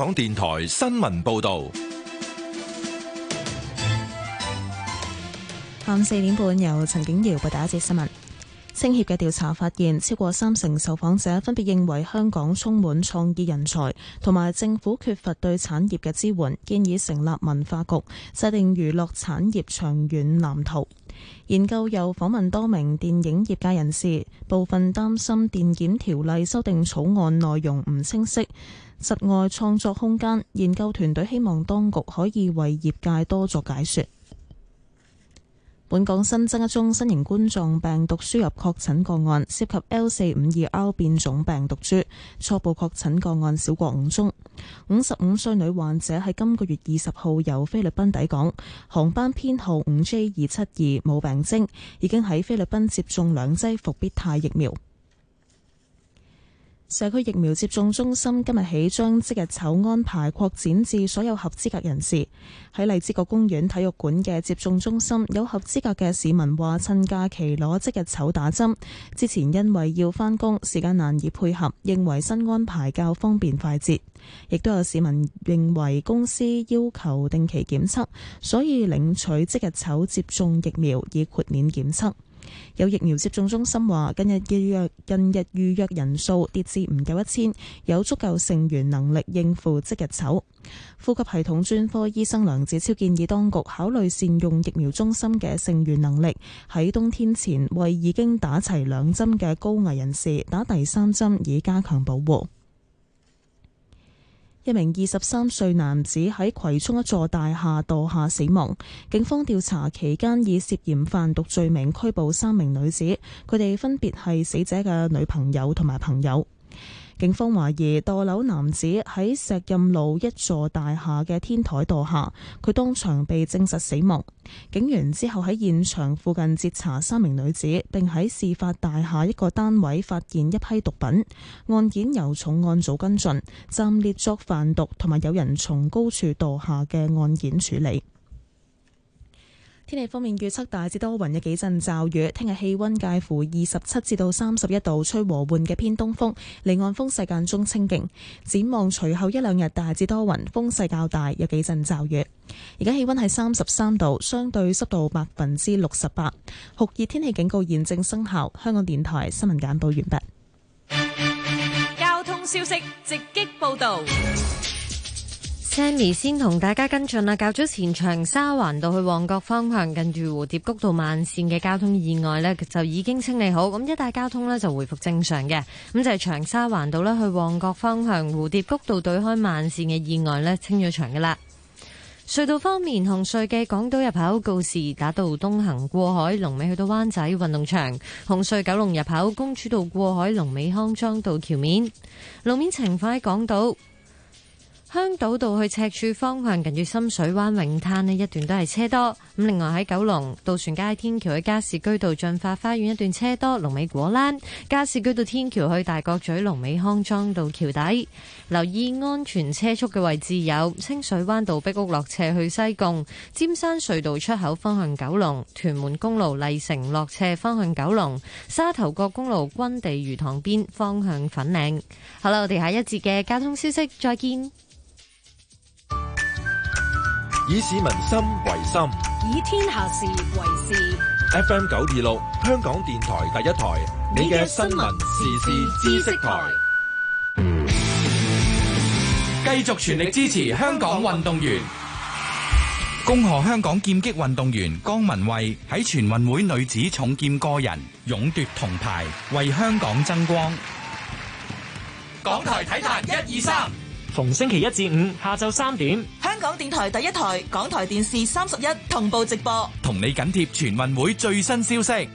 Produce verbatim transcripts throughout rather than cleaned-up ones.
港電台新聞報道。 下午四點半，由陳景瑤報道一節新聞。青協嘅調查發現，超過三成受訪者分別認為香港充滿創意人才，同埋政府缺乏對產業嘅支援，建議成立文化局，制定娛樂產業長遠藍圖。研究又訪問多名電影業界人士，部分擔心電檢條例修訂草案內容唔清晰，窒礙創作空間。研究團隊希望當局可以為業界多作解說。本港新增一宗新型冠狀病毒輸入確診個案，涉及 L 四五二 R 變種病毒株，初步確診個案少過五宗。五十五歲女患者喺今個月二十號由菲律賓抵港，航班編號五 J 二七二，冇病徵，已經喺菲律賓接種兩劑復必泰疫苗。社區疫苗接種中心今日起將即日籌安排擴展至所有合資格人士。喺荔枝角公園體育館嘅接種中心，有合資格嘅市民話趁假期攞即日籌打針，之前因為要返工，時間難以配合，認為新安排較方便快捷。亦都有市民認為公司要求定期檢測，所以領取即日籌接種疫苗以豁免檢測。有疫苗接種中心話，近日預約近日預約人數跌至唔夠一千，有足夠剩餘能力應付即日籌。呼吸系統專科醫生梁子超建議當局考慮善用疫苗中心嘅剩餘能力，喺冬天前為已經打齊兩針嘅高危人士打第三針，以加強保護。一名二十三歲男子喺葵涌一座大廈墮下死亡，警方調查期間以涉嫌販毒罪名拘捕三名女子，佢哋分別係死者嘅女朋友同埋朋友。警方懷疑墮樓男子喺石蔭路一座大廈嘅天台墮下，佢當場被證實死亡。警員之後喺現場附近截查三名女子，並喺事發大廈一個單位發現一批毒品。案件由重案組跟進，暫列作販毒同埋有人從高處墮下嘅案件處理。天氣方面，預測大致多雲，有幾陣驟雨。聽日氣溫介乎二十七至到三十一度，吹和緩嘅偏東風，離岸風勢間中清勁。展望隨後一兩日大致多雲，風勢較大，有幾陣驟雨。而家氣溫係三十三度，相對濕度百分之六十八，酷熱天氣警告現正生效。香港電台新聞簡報完畢。 交通消息直擊報道。 Sammy 先同大家跟進啦，較早前長沙灣道去旺角方向近住蝴蝶谷道慢線嘅交通意外呢，就已經清理好，咁一帶交通呢就回復正常嘅。咁就係長沙灣道呢去旺角方向蝴蝶谷道對開慢線嘅意外呢，清咗場噶啦。隧道方面，紅隧嘅港島入口告士打道東行過海，龍尾去到灣仔運動場；紅隧九龍入口公主道過海，龍尾康莊道橋面。路面情況喺港島香島道去赤柱方向，近住深水灣泳灘呢一段都係車多。咁另外喺九龍渡船街天橋去加士居道進發花園一段車多，龍尾果欄；加士居道天橋去大角咀龍尾康莊道橋底。留意安全車速嘅位置有清水灣道壁屋落斜去西貢，尖山隧道出口方向九龍，屯門公路麗城落斜方向九龍，沙頭角公路軍地魚塘邊方向粉嶺。好啦，我哋下一節嘅交通消息再見。 以市民心為心， 以天下事為事。 F M 九二六，香港電台第一台，你嘅新聞時事知識台， 繼續全力支持香港運動員。恭賀香港劍擊運動員江文慧喺全運會女子重劍個人勇奪銅牌，為香港爭光。港台體壇一二三， 逢星期一至五下晝三點， 香港電台第一台、港台電視三十一同步直播， 同你緊貼全運會最新消息。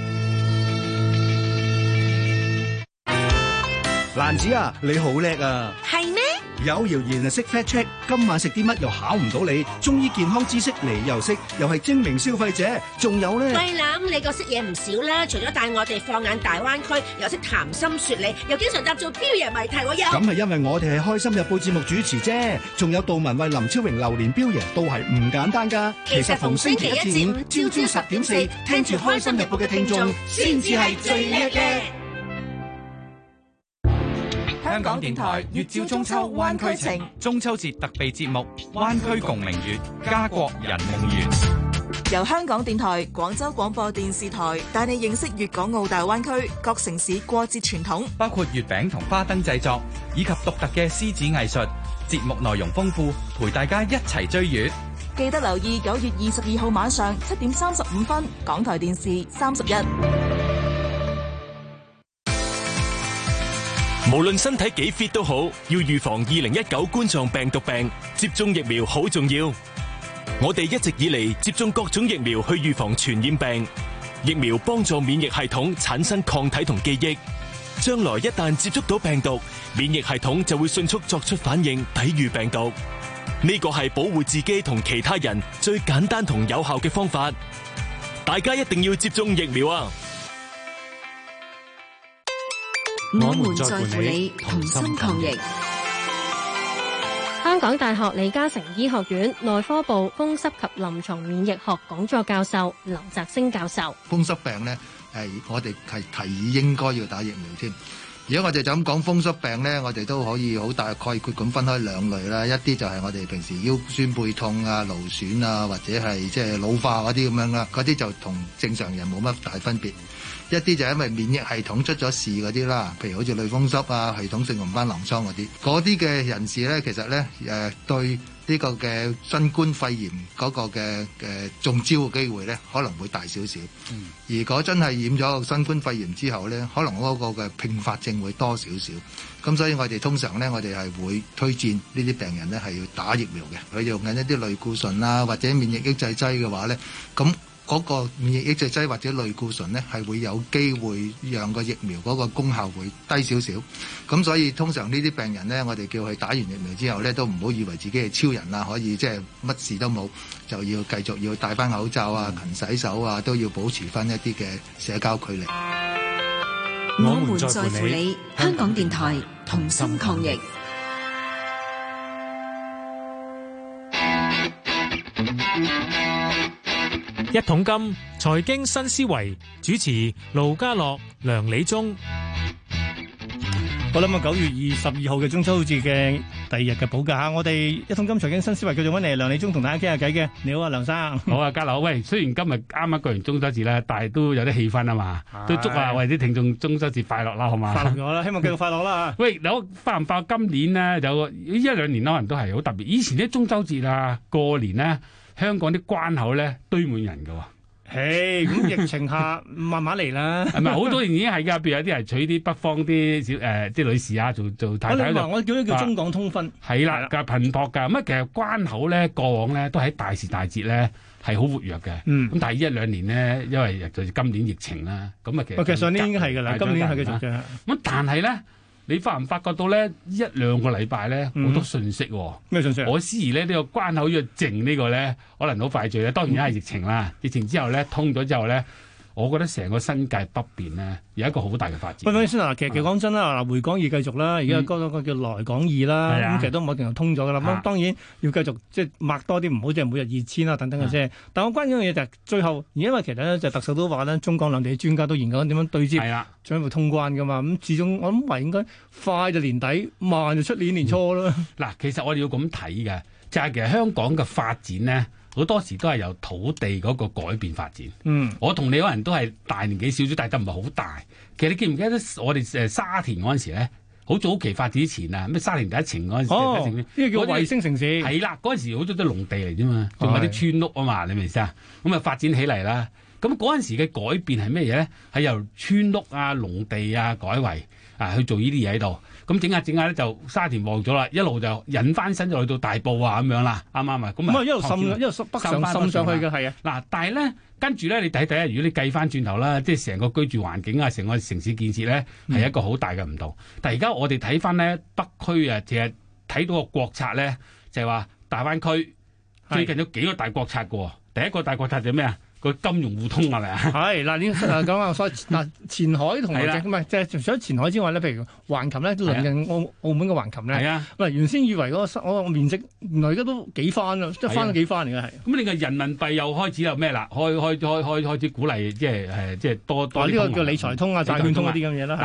蘭子啊，你好叻啊！ 係咩？ 有謠言啊，識 fact check， 今晚食啲乜又考唔到你，中醫健康知識你又識，又係精明消費者，仲有咧。 喂，諗你個識嘢唔少啦，除咗帶我哋放眼大灣區，又識談心說理，又經常答做標爺謎題，我有。 咁係因為我哋係開心日報節目主持啫，仲有杜文慧、林超榮、榴蓮標爺都係唔簡單噶。 其實逢星期一至五朝朝十點四，聽住開心日報嘅聽眾，先至係最叻嘅。 香港電台月照中秋灣區情，中秋節特備節目《灣區共明月》，家國人夢圓。 由香港電台、廣州廣播電視台帶你認識粵港澳大灣區各城市過節傳統， 包括月餅同花燈製作，以及獨特嘅獅子藝術。節目內容豐富，陪大家一齊追月。 記得留意九月二十二號晚上七點三十五分，港台電視三十一。 無論身體幾 fit 都好，要預防二零一九冠狀病毒病，接種疫苗好重要。我哋一直以嚟接種各種疫苗去預防傳染病，疫苗幫助免疫系統產生抗體同記憶，將來一旦接觸到病毒，免疫系統就會迅速作出反應，抵禦病毒。呢個係保護自己同其他人最簡單同有效嘅方法，大家一定要接種疫苗啊！ 我們在乎你，同心抗疫。 香港大學李嘉誠醫學院內科部風濕及臨床免疫學講座教授劉澤星教授： 風濕病呢，係我哋係提議應該要打疫苗添。如果我哋就咁講風濕病呢，我哋都可以好大概括咁分開兩類啦。一啲就係我哋平時腰酸背痛啊、勞損啊，或者係即係老化嗰啲咁樣啦，嗰啲就同正常人冇乜大分別。一啲就係因為免疫系統出咗事嗰啲啦，譬如好似類風濕啊、系統性紅斑狼瘡嗰啲，嗰啲嘅人士咧，其實咧誒、呃、對呢個嘅新冠肺炎嗰個嘅誒、呃、中招嘅機會咧，可能會大少少。嗯、如果真係染咗新冠肺炎之後咧，可能嗰個嘅併發症會多少少。咁所以我哋通常咧，我哋係會推薦呢啲病人咧係要打疫苗嘅。佢用緊一啲類固醇啊，或者免疫抑制劑嘅話咧，咁嗰個免疫抑制劑或者類固醇呢，係會有機會讓個疫苗嗰個功效會低少少。咁所以通常呢啲病人呢，我哋叫佢打完疫苗之後呢，都唔好以為自己係超人啊，可以即係乜事都冇，就要繼續要戴翻口罩啊、勤洗手啊，都要保持翻一啲嘅社交距離。 我們在乎你，香港電台同心抗疫。 一桶金財經新思維，主持盧家樂、梁理中。 好啦，咁啊九月二十二號嘅中秋節嘅第二日嘅補假嚇，我哋一桶金財經新思維繼續揾嚟梁理中同大家傾下偈嘅。你好啊，梁生。 好啊，家樂。喂，雖然今日啱啱過完中秋節咧，但係都有啲氣氛啊嘛，都祝啊為啲聽眾中秋節快樂啦，好嘛？ 快樂咗啦，希望繼續快樂啦。 喂，我發唔發今年呢？有一兩年可能都係好特別。以前啲中秋節啊，過年呢，香港啲關口咧堆滿人㗎喎。 嘿，咁疫情下慢慢嚟啦。 係咪好多年已經係㗎？譬如有啲係娶啲北方啲小誒啲女士啊，做做太太。 我話我叫呢叫中港通婚。 係啦，㗎頻撲㗎。咁啊，其實關口咧過往咧都喺大時大節咧係好活躍嘅。嗯。咁但係一兩年咧，因為就今年疫情啦，咁啊其實。其實上年已經係㗎啦，今年係繼續嘅。 咁但係咧。你發唔發覺到咧？一兩個禮拜咧，好多信息喎。 咩信息？ 我思疑咧呢個關口要靜呢個咧，可能好快脆咧。當然係疫情啦，疫情之後咧通咗之後咧，我覺得成個新界北邊咧有一個好大嘅發展。 喂，先嗱，其實其實講真啦，嗱回港易繼續啦，而家嗰個叫來港易啦，咁其實都冇一定係通咗㗎啦。咁當然要繼續即係擘多啲，唔好即係每日二千啦等等嘅啫。但我關鍵嘅嘢就係最後，因為其實咧就特首都話咧，中港兩地嘅專家都研究緊點樣對接。係啦。將會通關噶嘛？咁始終我諗話應該快就年底，慢就出年年初啦。嗱、嗯， 其實我哋要咁睇嘅，就係、是、其實香港嘅發展咧，好多時都係由土地嗰個改變發展。嗯，我同你可能都係大年紀少少，但係都唔係好大。其實你記唔記得我哋誒沙田嗰陣時咧，好早期發展之前啊，咩沙田第一城嗰陣時， 哦，呢個叫衛星城市。係啦，嗰陣時好多都農地嚟啫嘛，仲有啲村屋啊嘛，你明唔明啊？咁啊發展起嚟啦。咁嗰陣時嘅改變係咩嘢咧？係由村屋啊、農地啊改為啊去做呢啲嘢喺度。咁整下整下咧就沙田旺咗啦，一路就引翻身就去到大埔啊咁樣啦，啱唔啱啊？咁啊一路滲一路北上滲上去嘅係啊。嗱，但係咧跟住咧你睇睇啊，如果你計翻轉頭啦，即係成個居住環境啊，成個城市建設咧係、嗯、一個好大嘅唔同。但係而家我哋睇翻咧北區啊，其實睇到個國策咧就係、是、話大灣區最近有幾個大國策嘅喎。第一個大國策就係咩啊？個金融互通係咪啊？係嗱，呢誒講下所謂嗱前海同埋唔係即係除咗前海之外咧，譬如橫琴咧，鄰近澳澳門嘅橫琴咧，係啊，喂原先以為嗰、嗰個嗰個面積原來而家都幾番啦，即係翻咗幾番嚟嘅係。咁你個人民幣又開始有咩啦？開開開開開始鼓勵即係誒即係多多。呢、哦呢個叫理財通啊、債券通嗰啲咁嘢啦，係啊。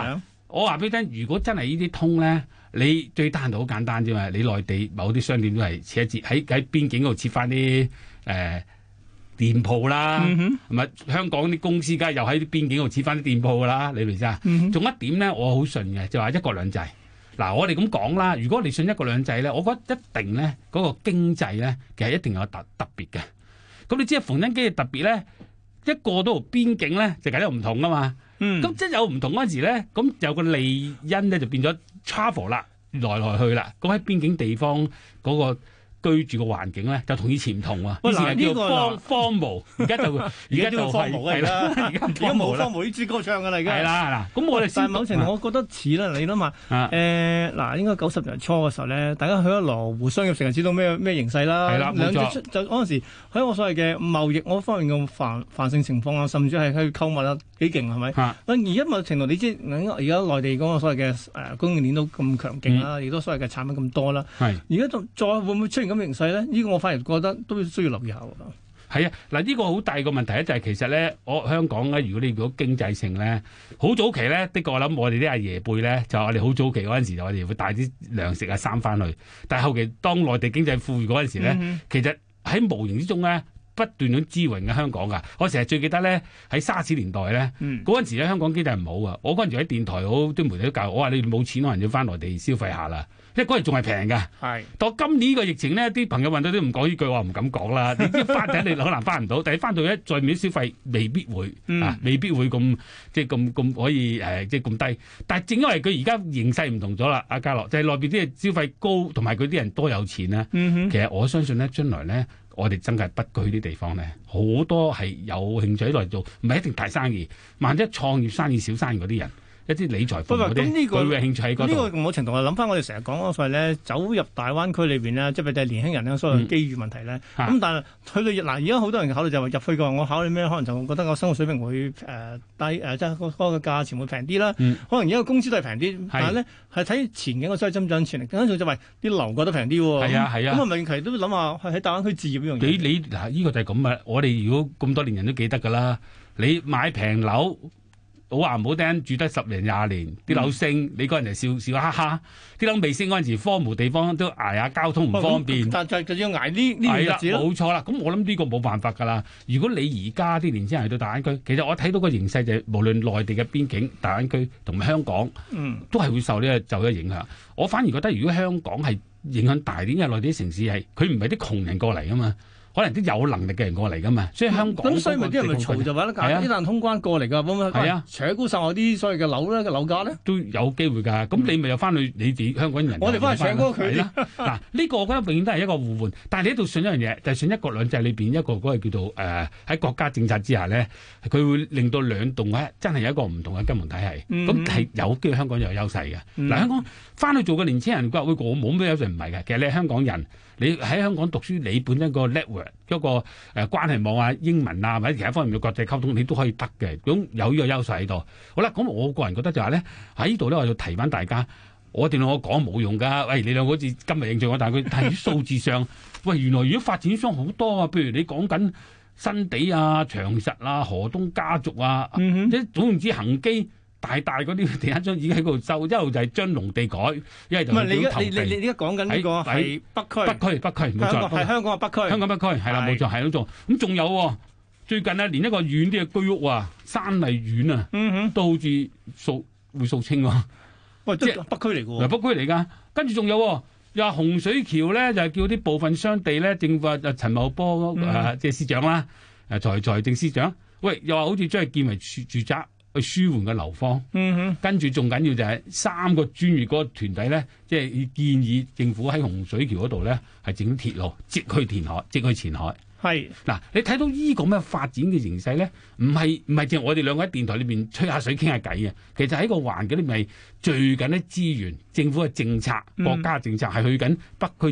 我話俾你聽，如果真係呢啲通咧，你最單就好簡單啫嘛。你內地某啲商店都係設一設喺喺邊境嗰度設翻啲誒店鋪啦，係咪、嗯？香港啲公司梗係又喺啲邊境度設翻啲店鋪噶啦，你明唔明啊？仲、嗯、一點咧，我好信嘅，就話一國兩制。嗱，我哋咁講啦，如果你信一國兩制咧，我覺得一定咧嗰、那個經濟咧，其實一定有特特別嘅。咁你知啊，逢親經濟特別咧，一過到邊境咧，就梗係唔同噶嘛。咁、嗯、即係有唔同嗰陣時咧，咁有個利因咧就變咗 travel 啦，來來去啦。咁喺邊境地方嗰、那個居住嘅環境咧，就同以前唔同喎。以前係叫荒荒蕪，而家就而家就係係啦，而家冇荒蕪呢支歌唱㗎啦，而家係啦嗱。咁我哋但係某程度，我覺得似啦，你諗下誒嗱，應該九十年初嘅時候咧，大家去咗羅湖商業城就知道咩咩形勢啦。係啦，冇錯。就嗰陣時喺我所謂嘅貿易嗰方面嘅繁繁盛情況啊，甚至係去購物啊幾勁係咪？而家某程度你知而家內地嗰個所謂嘅誒供應鏈都咁強勁啦，亦都所謂嘅產品咁多啦。係而家就再會唔會出現咁形勢咧？呢個我反而覺得都需要留意下喎。 係啊，嗱呢個好大個問題咧，就係其實咧，我香港咧，如果你如果經濟性咧，好早期咧，的確我諗我哋啲阿爺輩咧，就我哋好早期嗰陣時就我哋會帶啲糧食啊衫翻去，但係後期當內地經濟富裕嗰陣時咧，嗯、其實喺無形之中咧不斷咁支援嘅香港噶。我成日最記得咧喺沙士年代咧，嗰、嗯、陣時咧香港經濟唔好啊，我嗰陣時喺電台好啲媒體都教我話你冇錢可能要翻內地消費下啦。因為嗰陣仲係平㗎，係到今年呢個疫情咧，啲朋友問到都唔講呢句話，唔敢講啦。你知翻頂你可能翻唔到，但係翻到一再面消費未必會、嗯、啊，未必會咁即係咁咁可以誒、呃，即係咁低。但係正因為佢而家形勢唔同咗啦，阿嘉樂就係內邊啲消費高，同埋佢啲人多有錢咧。嗯、其實我相信咧，將來咧，我哋真係北區啲地方咧，好多係有興趣喺度做，唔係一定大生意，萬一創業生意、小生意嗰啲人。一啲理財服務嗰啲，佢會興趣喺嗰度。呢個某程度係諗翻我哋成日講嗰個咧，走入大灣區裏邊咧，即係譬如年輕人咧，所謂機遇問題咧。咁、嗯、但係去到嗱，而家好多人考慮就係話入去嘅話，我考慮咩？可能就覺得個生活水平會誒、呃、低誒、呃，即係嗰個價錢會平啲啦。嗯、可能而家個工資都係平啲，但係咧係睇前景個所謂增長潛力。更加重要就係啲樓價都平啲喎。係啊係啊。咁啊，咪其實都諗下喺大灣區置業呢樣嘢。你你嗱，呢、這個就係咁啊！我哋如果咁多年人都記得㗎啦，你買平樓。好話唔好聽，住得十年廿年，啲樓升，嗯、你嗰人就笑笑哈哈。啲樓未升嗰陣時，荒蕪地方都捱下交通唔方便。但就就要捱呢呢段日子咯。冇錯啦，咁我諗呢個冇辦法㗎啦。如果你而家啲年輕人去到大灣區，其實我睇到個形勢就係、是、無論內地嘅邊境、大灣區同埋香港，嗯、都係會受呢個就嘅影響。我反而覺得，如果香港係影響大啲，因為內地啲城市係佢唔係啲窮人過嚟㗎嘛。可能啲有能力嘅人過嚟噶嘛，所以香港咁所以咪啲人咪嘈就話咧，一旦通關過嚟噶，咁係啊，扯高晒我啲所謂嘅樓咧嘅樓價咧，都有機會㗎。咁、嗯、你咪又翻去你哋香港人，我哋翻去扯高佢啦。嗱，呢、呢個我覺得永遠都係一個互換，但係你喺度信一樣嘢，就係、是、信一國兩制裏邊一個嗰個叫做誒喺、呃、國家政策之下咧，佢會令到兩棟咧真係有一個唔同嘅金融體系。咁係、嗯、有機會香港又有優勢嘅。嗱、嗯，香港翻去做嘅年輕人話：喂，我冇咩優勢，唔係嘅。其實你係香港人。你喺香港讀書，你本身個 network 一個誒關係網啊、英文啊或者其他方面嘅國際溝通，你都可以得嘅。咁有呢個優勢喺度。好啦，咁我個人覺得就係咧喺呢度咧，我要提翻大家，我哋兩個講冇用㗎。喂，你兩個好似今日認罪我，但係佢喺數字上，喂，原來如果發展商好多啊，譬如你講緊新地啊、長實啊、河東家族啊，即係總言之恒基。大大嗰啲地產商已經喺嗰度收，一路就係將農地改，一係就唔係你你你而家講緊呢個係北區，北區北區冇錯，係香港嘅北區，香港北區係啦冇錯係咁做。咁仲有喎，最近啊，連一個遠啲嘅居屋啊，山麗苑啊，嗯哼，都好似掃會掃清喎。喂，即係北區嚟㗎喎，北區嚟㗎。跟住仲有又話洪水橋咧，就係叫啲部分商地咧，政府啊陳茂波誒即係司長啦，誒財財政司長，喂又話好似將佢建為住住宅。去舒緩嘅樓荒，嗯哼，跟住仲緊要就係三個專業嗰個團體咧，即係建議政府喺洪水橋嗰度咧係整鐵路，直去填海，直去前海。係嗱，你睇到依個咩發展嘅形勢咧，唔係唔係淨係我哋兩個喺電台裏邊吹下水傾下偈嘅，其實喺個環境裏面聚緊啲資源，政府嘅政策、國家政策係去緊北區做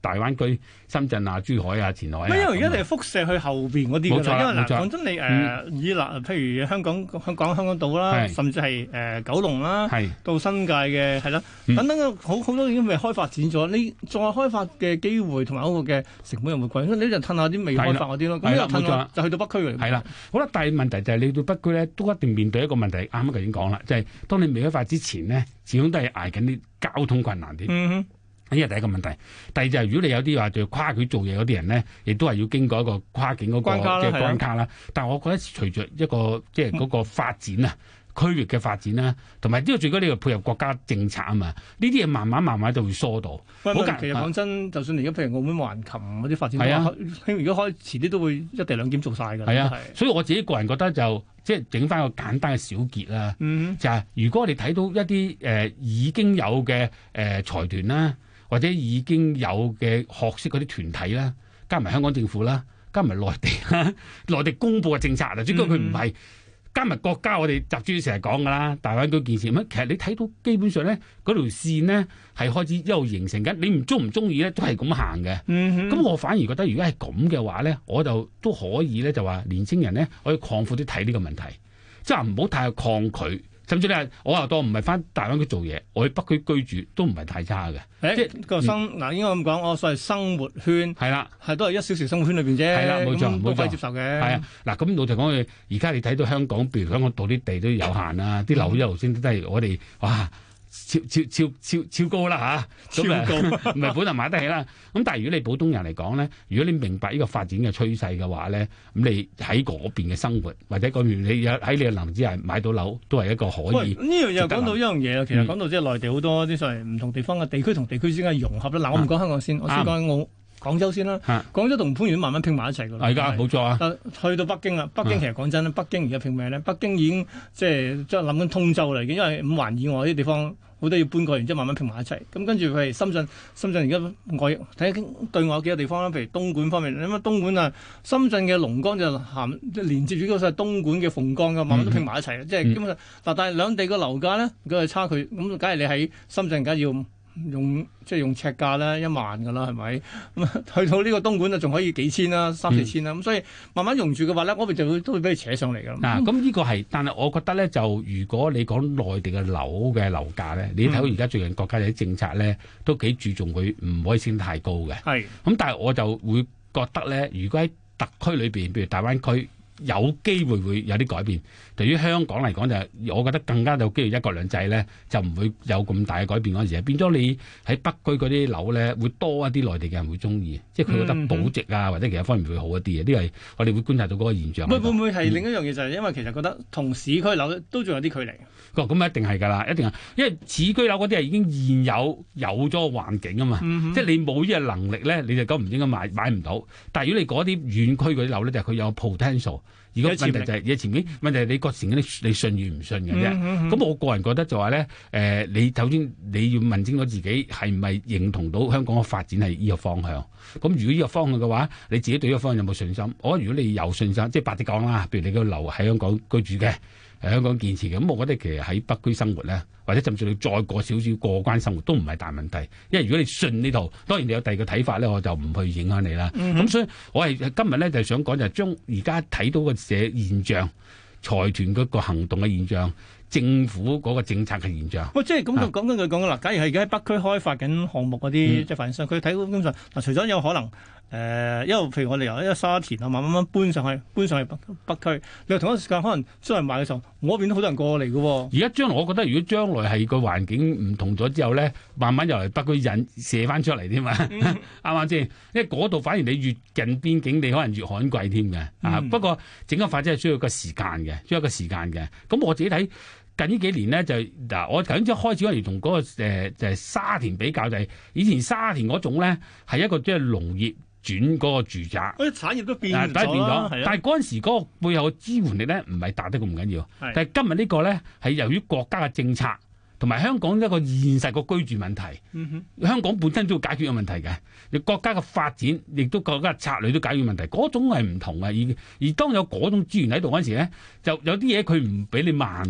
大灣區、深圳啊、珠海啊、前海啊。 因為而家你係輻射去後邊嗰啲㗎啦，因為嗱講真，你誒、呃嗯、以嗱譬如香港香港香港島啦，甚至係誒、呃、九龍啦，到新界嘅係啦，等等嘅好好多已經未開發展咗，你再開發嘅機會同埋嗰個嘅成本又會貴，所以你就褪下啲未開發嗰啲咯。咁又褪下就去到北區嚟。 係啦，好啦，但係問題就係你到北區咧，都一定面對一個問題，啱啱頭先講啦，就係、是、當你未開發之前呢，始終都係捱緊啲交通困難啲。嗯哼。呢係第一個問題，第二就係如果你有啲話就跨區做嘢嗰啲人咧，亦都係要經過一個跨境嗰個嘅關卡啦。但係我覺得隨着一個即係嗰個發展啊，區域嘅發展啦，同埋呢個最緊要你配合國家政策啊嘛，呢啲嘢慢慢慢慢就會疏導。 喂，其實講真，就算你而家譬如澳門橫琴嗰啲發展，係啊，如果開遲啲都會一地兩檢做晒㗎。係啊，所以我自己個人覺得就即係整翻個簡單嘅小結啦。嗯，就係如果我哋睇到一啲誒、呃、已經有嘅誒、呃、財團啦。或者已經有嘅學識嗰啲團體啦，加埋香港政府啦，加埋內地啦，內地公布嘅政策啊，主要佢唔係加埋國家，我哋習主席成日講㗎啦，大灣區建設咁，其實你睇到基本上咧，嗰條線呢係開始一路形成緊，你唔中唔中意咧都係咁行嘅。咁、嗯、我反而覺得，如果係咁嘅話咧，我就都可以咧，就話年青人咧可以擴闊啲睇呢個問題，即係唔好太抗拒。甚至咧，我又當唔係翻大灣區做嘢，我去北區居住都唔係太差嘅。 誒，即係個生嗱、嗯，應該咁講，我所謂生活圈係啦，係都係一小時生活圈裏邊啫。係啦，冇錯，冇錯，接受嘅。係啊，嗱，咁老實講句，而家你睇到香港，譬如香港島啲地都有限啦，啲、嗯、樓一路升都係我哋哇。超超超超超高啦嚇，咁啊唔係本來買得起啦。咁但係如果你普通人嚟講咧，如果你明白呢個發展嘅趨勢嘅話咧，咁你喺嗰邊嘅生活或者嗰邊你有喺你嘅能力之下買到樓，都係一個可以。呢樣又講到一樣嘢啦，其實講到即係內地好多啲所謂唔同地方嘅地區同地區之間嘅融合啦。嗱、嗯，我唔講香港先，我先講澳廣州先啦。廣州同番禺慢慢拼埋一齊㗎啦。係㗎，冇錯啊。去到北京啦，北京其實講真啦，北京而家拼咩咧？北京已經即係即係諗緊通州嚟嘅，因為五環以外啲地方。好多要搬過，然之後慢慢拼埋一齊。咁跟住佢係深圳，深圳而家外睇下對外幾個地方啦，譬如東莞方面，你諗下東莞啊，深圳嘅龍崗就含即係連接住嗰個東莞嘅鳳崗嘅，慢慢都拼埋一齊、嗯、即係基本上嗱，但係兩地嘅樓價咧，佢係差距，咁梗係你喺深圳梗係要用即係用尺價咧一萬㗎啦，係咪？咁去到呢個東莞就仲可以幾千啦，三四千啦。咁、嗯、所以慢慢用住嘅話咧，我哋就會都會俾佢扯上嚟㗎。 嗱，咁呢個係，但係我覺得咧，就如果你講內地嘅樓嘅樓價咧，你睇到而家最近國家有啲政策咧，都幾注重佢唔可以升得太高嘅。係。咁但係我就會覺得咧，如果喺特區裏邊，譬如大灣區，有機會會有啲改變。對於香港嚟講，就我覺得更加有機會一國兩制咧，就唔會有咁大嘅改變嗰陣時，變咗你喺北區嗰啲樓咧，會多一啲內地嘅人會中意，即係佢覺得保值啊，或者其他方面會好一啲嘅。呢個係我哋會觀察到嗰個現象。 會會唔會係另一樣嘢、嗯、就係因為其實覺得同市區樓都仲有啲距離。 咁、哦、一定係㗎啦，一定係，因為市區樓嗰啲係已經現有有咗個環境啊嘛，嗯、即係你冇呢個能力咧，你就咁唔應該買買唔到。但係如果你嗰啲遠區嗰啲樓咧，就係、是、佢有 potential。如果問題就係、是、嘢前面問題係你個成你你信與唔信嘅啫。咁、嗯嗯、我個人覺得就話咧，誒、呃，你首先你要問清楚自己係唔係認同到香港嘅發展係呢個方向。咁如果呢個方向嘅話，你自己對呢個方向有冇信心？我覺得如果你有信心，即係白啲講啦，譬如你個留喺香港居住嘅。喺香港建設嘅，咁我覺得其實喺北區生活咧，或者甚至你再過少少過關生活都唔係大問題，因為如果你信呢套，當然你有第二個睇法咧，我就唔去影響你啦。咁、嗯、所以我係今日咧就想講就係將而家睇到嘅社現象、財團嗰個行動嘅現象、政府嗰個政策嘅現象。喂、哦，即係咁就講緊佢講啦。假如係而家喺北區開發緊項目嗰啲、嗯、即係發展商，佢睇到根本上嗱，除咗有可能。誒、呃，因為譬如我哋由一個沙田啊，慢慢慢搬上去，搬上去北北區。你話同一時間可能將來賣嘅時候，我嗰邊都好多人過嚟嘅喎。而家將來，我覺得如果將來係個環境唔同咗之後咧，慢慢又嚟北區引射翻出嚟添嘛，啱啱先？因為嗰度反而你越近邊境，你可能越罕貴添嘅。啊、嗯，不過整個發展係需要個時間嘅，需要一個時間嘅。咁我自己睇近呢幾年咧，就嗱，我頭先即係開始嗰時同嗰個誒、呃、就係、是、沙田比較，就係、是、以前沙田嗰種咧係一個即係農業。轉嗰個住宅，嗰啲產業都變咗，但係嗰陣時嗰個背後嘅支援力咧，唔係大得咁唔緊要。但係今日呢個咧，係由於國家嘅政策同埋香港一個現實個居住問題、嗯，香港本身都要解決個問題嘅。你國家嘅發展亦都國家嘅策略都解決問題，嗰種係唔同嘅。而而當有嗰種資源喺度嗰陣時咧，就有啲嘢佢唔俾你慢嘅，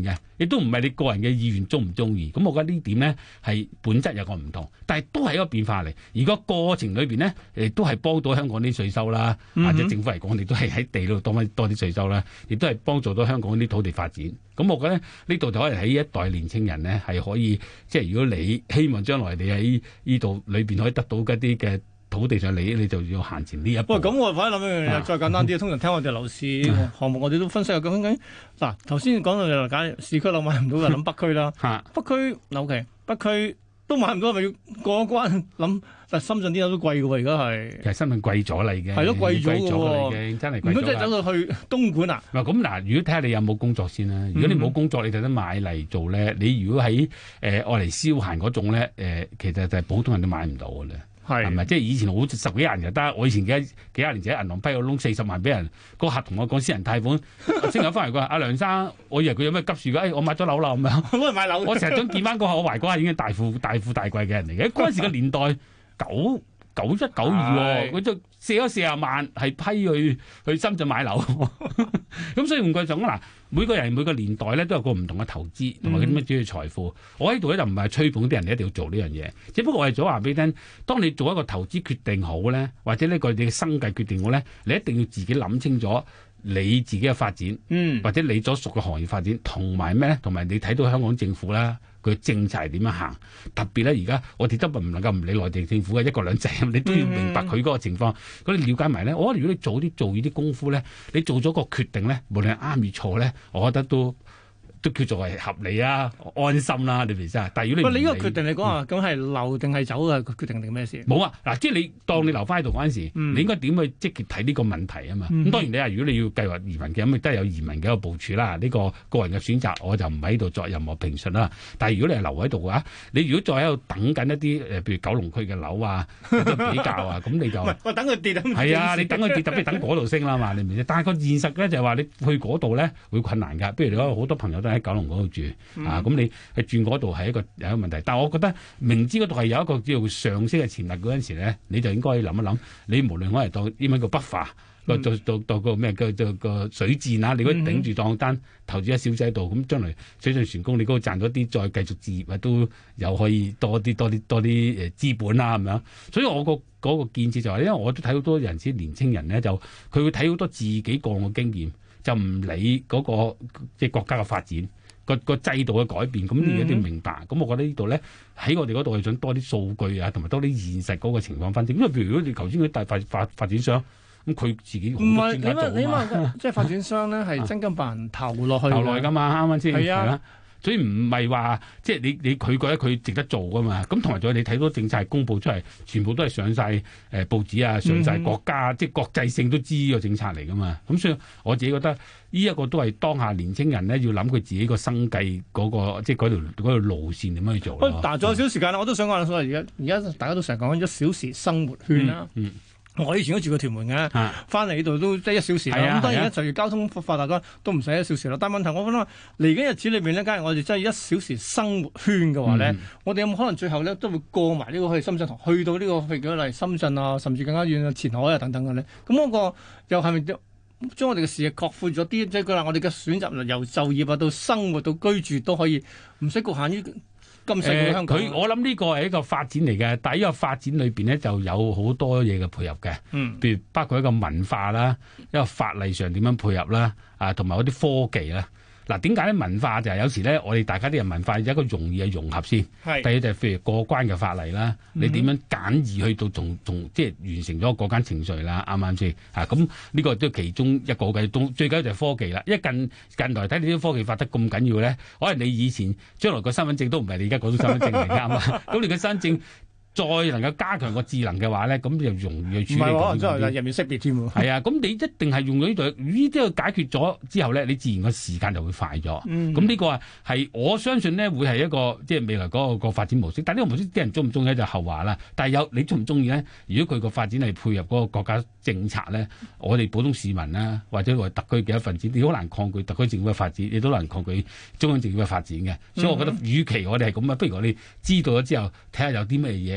亦都唔係你個人嘅意願中唔中意。咁我覺得呢點咧係本質有個唔同，但係都係一個變化嚟。而個過程裏邊咧，誒都係幫到香港啲稅收啦， 嗯、 或者政府嚟講，你都係喺地度多翻多啲稅收啦，亦都係幫助到香港啲土地發展。咁我覺得呢度就可以喺一代年青人咧係可以，即係如果你希望將來你喺呢度裏邊可以得到一啲嘅土地上利益，你就要行前呢一步。 喂，咁我反而諗一樣嘢，再簡單啲，通常聽我哋樓市項目，我哋都分析下究竟嗱，頭先講到就假市區樓買唔到，就諗北區啦。北區樓期，北區都買唔到，係咪要過一關諗？但深圳啲樓都貴嘅喎，而家係。其實深圳貴咗啦，已經係咯，貴咗嘅喎，真係貴咗。如果真係走到去東莞啊？嗱，咁嗱，如果睇下你有冇工作先啦。如果你冇工作，你就得買嚟做咧。你如果喺誒愛嚟消閒嗰種咧，誒、呃、其實就係普通人都買唔到嘅咧。係咪？即係以前好十幾廿人就得，我以前幾幾廿年前喺銀行批個窿四十萬俾人，個客同我講私人貸款，先有翻嚟佢話：阿梁生，我以為佢有咩急事㗎？誒、哎，我買咗樓啦咁樣。我係買樓。我成日想見翻個我懷嗰下已經大富大富大貴嘅人嚟嘅。嗰陣時嘅年代九九一九二，佢就借咗四十萬係批去去深圳買樓。咁所以換句講嗱，每個人每個年代咧都有個唔同嘅投資同埋嗰啲乜嘢財富。我喺度咧就唔係吹捧啲人，你一定要做呢樣嘢。只不過我係早話俾你聽，當你做一個投資決定好咧，或者呢個你嘅生計決定好咧，你一定要自己諗清楚你自己嘅發展，嗯、或者你所屬嘅行業發展，同埋咩咧？同埋你睇到香港政府啦。佢政策係點樣行？特別咧，而家我哋都唔能夠唔理內地政府嘅一國兩制，你都要明白佢嗰個情況。咁你了解埋咧，我覺得如果你早啲做呢啲功夫咧，你做咗個決定咧，無論係啱與錯咧，我覺得都都叫做係合理啊、安心啦、啊，你明唔明啊？但係如果你唔理，喂，你呢個決定你講啊，咁係留定係走嘅決定定咩事？冇啊，嗱，即係你當你留翻喺度嗰陣時，嗯、你應該點去積極睇呢個問題啊嘛？咁、嗯、當然你話如果你要計劃移民嘅，咁亦都係有移民嘅一個部署啦。呢、呢個個人嘅選擇，我就唔喺度作任何評述啦。但係如果你係留喺度嘅話，你如果再喺度等緊一啲誒，譬如九龍區嘅樓啊，比較啊，咁你就喂等佢跌啊？係啊，你等佢跌，特別等嗰度升啦嘛，你明唔明？但係個現實咧就係話你去嗰度咧會困難㗎。不如你講好多朋友都喺九龍嗰度住。嗯、啊，咁你去轉嗰度係一個有一個問題，但係我覺得明知嗰度係有一個叫做上升嘅潛力嗰陣時咧，你就應該諗一諗，你無論我係當英文個 buffer 個做做當個咩個個水戰啊，你如果頂住檔單投資喺小仔度，咁將來水上船工你嗰度賺咗啲，再繼續置業啊，都有可以多啲多啲多啲誒資本啦咁樣。所以我個嗰個建設就係、是，因為我都睇好多人啲年青人咧，就佢會睇好多自己個案嘅經驗，就唔理嗰、那個即係國家嘅發展。個個制度嘅改變，咁你一定要明白。咁、嗯、我覺得呢度咧，喺我哋嗰度係想多啲數據啊，同埋多啲現實嗰個情況分析。因為譬如如果你頭先嗰啲大發發發展商，咁佢自己好多專家做啊嘛。唔係，你話你話即係發展商咧，係真金白銀投落去，投落去㗎嘛，啱啱先？係啊。所以唔係話即係你你佢覺得佢值得做噶嘛？咁同埋仲有你睇到政策係公佈出嚟，全部都係上晒誒、呃、報紙啊，上晒國家，嗯、即係國際性都知呢個政策嚟噶嘛。咁所以我自己覺得呢一個都係當下年青人咧要諗佢自己個生計嗰、嗰個即係嗰條嗰條路線點樣去做咯。但係仲有少少時間啦，我都想講所謂而家而家大家都成日講一小時生活圈啦。嗯嗯我以前都住過屯門嘅，翻嚟呢度都即係一小時啦。咁、啊、當然咧，隨住交通發達咗，都唔使一小時啦。但係問題，我覺得嚟緊日子裏邊呢，假如我哋真係一小時生活圈嘅話咧，嗯、我哋有冇可能最後咧都會過埋呢個去深圳，去到呢、呢個譬如嚟深圳啊，甚至更加遠嘅前海啊等等嘅咧？咁嗰個又係咪將我哋嘅視野擴闊咗啲？即係佢話我哋嘅選擇由就業啊到生活到居住都可以唔使局限於。咁細嘅香港，佢、呃、我諗呢個係一個發展嚟嘅，但係呢個發展裏邊咧就有好多嘢嘅配合嘅，嗯，譬如包括一個文化啦，一個法例上點樣配合啦，啊，同埋嗰啲科技啦。嗱，點解咧？文化就係有時咧，我哋大家啲人文化有一個容易嘅融合先。係。第二就係譬如過關嘅法例啦，嗯、你點樣簡易去到從從即係完成咗嗰間程序啦，啱唔啱先？啊，咁呢個都係其中一個嘅，都最緊要就係科技啦。因為近近來睇你啲科技發得咁緊要咧，可能你以前將來個身份證都唔係你而家嗰種身份證嚟㗎嘛。咁你嘅身份證再能夠加強個智能嘅話咧，咁就容易去處理。唔係喎，真係入面識別添喎。係啊，咁你一定係用咗呢度，呢啲要解決咗之後咧，你自然個時間就會快咗。咁呢、嗯、個係我相信咧，會係一個即係未來嗰、嗰個個發展模式。但係呢個模式啲人中唔中意就後話啦。但係有你中唔中意咧？如果佢個發展係配合嗰個國家政策咧，我哋普通市民啦，或者話特區嘅一份子，你好難抗拒特區政府嘅發展，你都難抗拒中央政府嘅發展嘅。所以我覺得，與其我哋係咁啊，不如我哋知道咗之後，睇下有啲咩嘢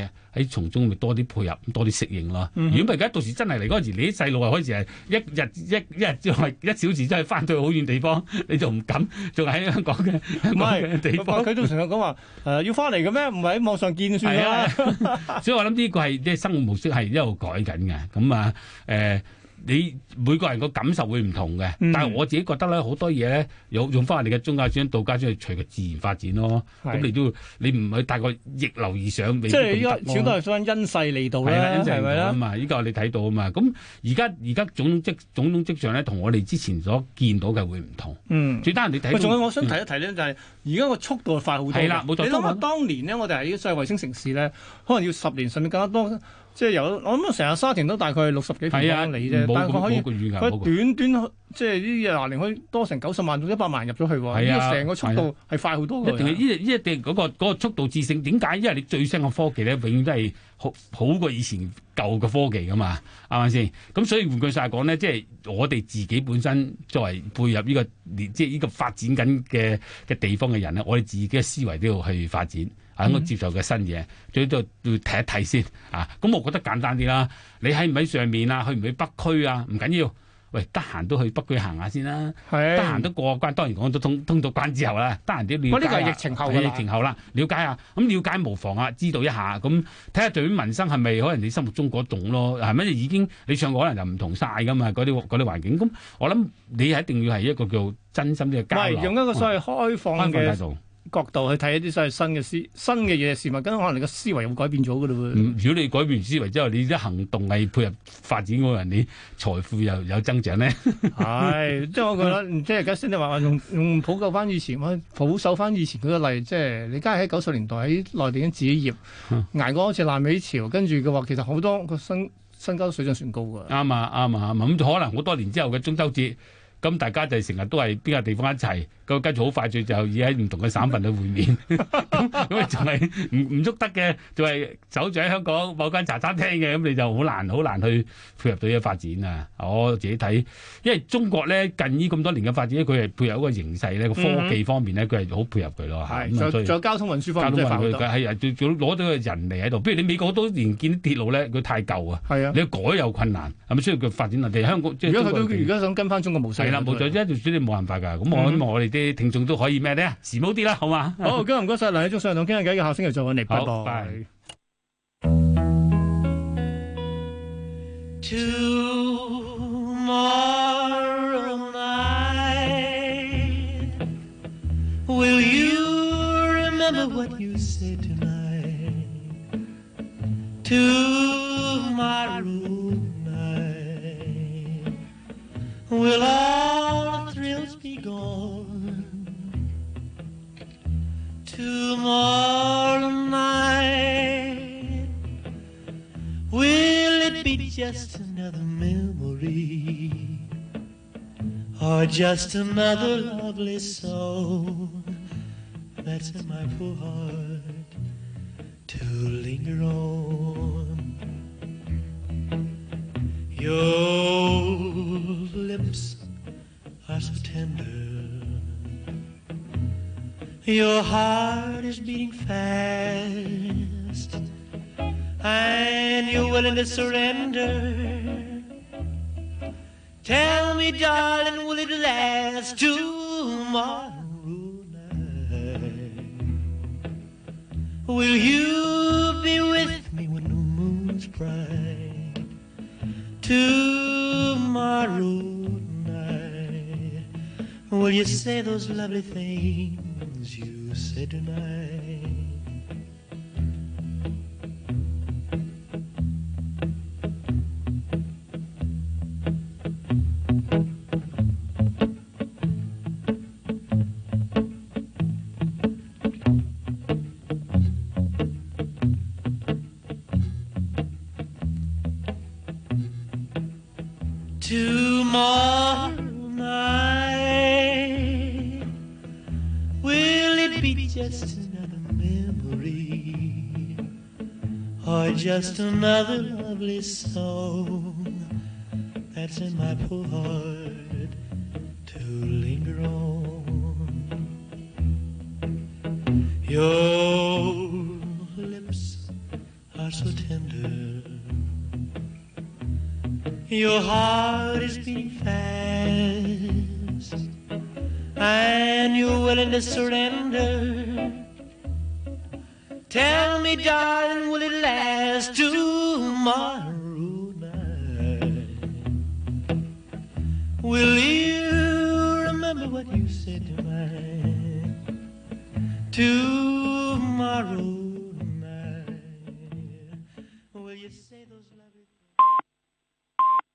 嘢喺從中咪多啲配合，多啲適應咯。 嗯、 如果唔係，而家到時真係嚟嗰陣時，你啲細路啊開始係一日一一日之後一小時真係翻到去好遠地方，你就唔敢，仲喺香港嘅香港嘅地方。 佢都成日講話誒要翻嚟嘅咩？唔係喺網上見算啦。 啊、所以我諗呢個係即係生活模式係一路改緊嘅。咁啊誒。呃你每個人個感受會唔同嘅，嗯、但係我自己覺得咧，好多嘢咧，用用翻我哋嘅宗教專道家專去隨個自然發展咯。咁你都你唔係大概逆流而上，即係依家始終都係想因勢利導啦，係咪啦？嘛， 依家我哋睇到啊嘛。咁而家而家種種跡種種跡象咧，同我哋之前所見到嘅會唔同。嗯，最單人你睇。仲有我想提一提咧，就係而家個速度快好多。係啦，冇錯。你諗下當年呢，我哋喺所謂衛星城市咧，可能要十年甚至更加多。即係有，我諗成日沙田都大概六十幾平方里啫，但係佢可以佢短短即係呢廿年可以多成九十萬到一百萬入咗去喎，呢個成個速度係快好多嘅。一定係呢呢一定嗰個嗰個速度致勝。點解？因為你最新嘅科技咧，永遠都係好好過以前舊嘅科技噶嘛，啱唔啱先？咁所以換句曬講咧，即係我哋自己本身作為配合呢個即係呢個發展緊嘅嘅地方嘅人咧，我哋自己嘅思維都要去發展。喺我接受嘅新嘢，最多要睇一睇先啊！咁我覺得簡單啲啦。你喺唔喺上面啊？去唔去北區啊？唔緊要。喂，得閒都去北區行下先啦。係。得閒都過關，當然講到通通到關之後啦。得閒啲了解。呢個係疫情後㗎啦。疫情後啦，了解下。咁了解無妨啊，知道一下。咁睇下對於民生係咪可能你心目中嗰種咯？係咪已經你上過可能就唔同晒㗎嘛？嗰啲嗰啲環境。咁我諗你係一定要係一個叫真心啲嘅交流。唔係用一個所謂開放嘅態度。角度去睇一啲所謂新嘅思新嘅嘢事物，咁可能你個思維又會改變咗㗎嘞喎。如果你改變思維之後，你啲行動係配合發展嗰個人，你財富又有增長咧。係，即係我覺得，即係而家先你話用用普救翻以前，保守翻以前嗰個例，即係你家喺九十年代喺內地已經自己業，嗯、捱過好似爛尾潮，跟住嘅話，其實好多個新新交水準算高㗎。啱啊，啱啊，咁可能好多年之後嘅中秋節。咁大家就成日都係邊個地方一齊，咁跟住好快脆就已喺唔同嘅省份去會面，咁咁啊仲係唔唔喐得嘅，就係守住喺香港某間茶餐廳嘅，咁你就好難好難去配合到呢個發展啊！我自己睇，因為中國咧近呢咁多年嘅發展，佢係配合一個形勢咧，個科技方面咧，佢係好配合佢咯。係，仲有交通運輸方面，交通運輸佢係係仲攞到個人嚟喺度。譬如你美國好多年見啲鐵路咧，佢太舊啊，係啊，你要改有困難，係咪需要佢發展落地？香港即係如果佢都而家想跟翻中國模式。係啦，冇錯，一條水你冇辦法㗎。咁我希望我哋啲聽眾都可以咩咧？時髦啲啦，好嘛？好，今日唔該曬梁理中上堂傾下偈嘅，下星期再揾你。拜拜。Tomorrow night, will you remember what you said tonight? Tomorrow night, will all the thrills be gone? Tomorrow night, will it be just another memory, or just another lovely song that's in my poor heart to linger on? Your lips are so tender, your heart is beating fast, and you're willing to surrender. Tell me, darling, will it last tomorrow night? Will you be with me when the moon's bright? Tomorrow night, will you say those lovely things you said tonight? Tomorrow night, will it be just another memory, or just another lovely song that's in my poor heart to linger on? Your lips so tender. Your heart is beating fast, and you're willing to surrender. Tell me, darling, will it last tomorrow night? Will you remember what you said tonight? To